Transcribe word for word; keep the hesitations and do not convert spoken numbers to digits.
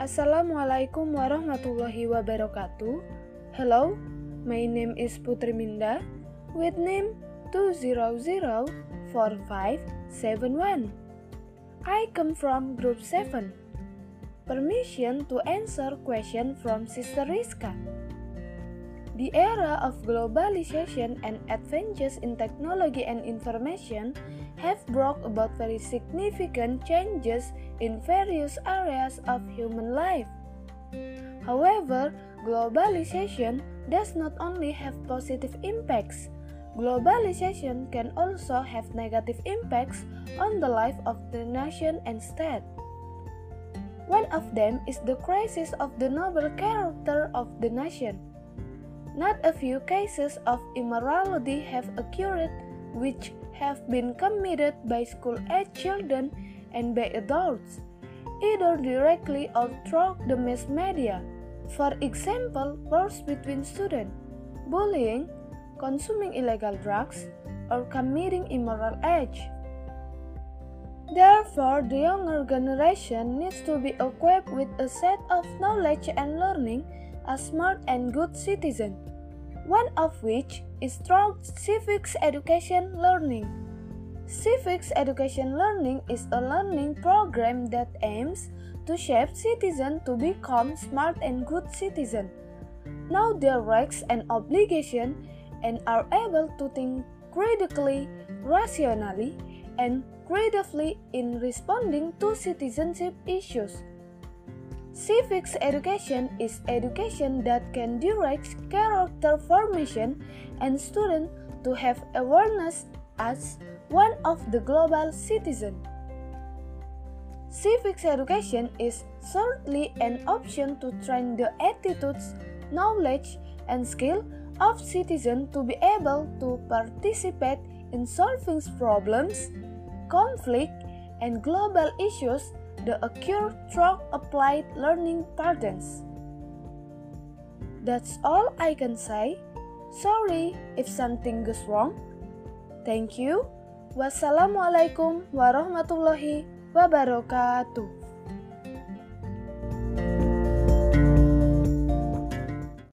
Assalamualaikum warahmatullahi wabarakatuh. Hello, my name is Putri Minda with name two zero zero four five seven one. I come from group seven. Permission to answer question from Sister Rizka. The era of globalization and advances in technology and information have brought about very significant changes in various areas of human life. However, globalization does not only have positive impacts. Globalization can also have negative impacts on the life of the nation and state. One of them is the crisis of the noble character of the nation. Not a few cases of immorality have occurred which have been committed by school-age children and by adults, either directly or through the mass media. For example, wars between students, bullying, consuming illegal drugs, or committing immoral acts. Therefore, the younger generation needs to be equipped with a set of knowledge and learning as smart and good citizen, one of which is through civics education learning. Civics education learning is a learning program that aims to shape citizens to become smart and good citizens, know their rights and obligations, and are able to think critically, rationally, and creatively in responding to citizenship issues. Civics education is education that can direct character formation and students to have awareness as one of the global citizens. Civics education is certainly an option to train the attitudes, knowledge, and skill of citizens to be able to participate in solving problems, conflict, and global issues that occur through applied learning patterns. That's all I can say. Sorry if something goes wrong. Thank you. Wassalamualaikum warahmatullahi wabarakatuh.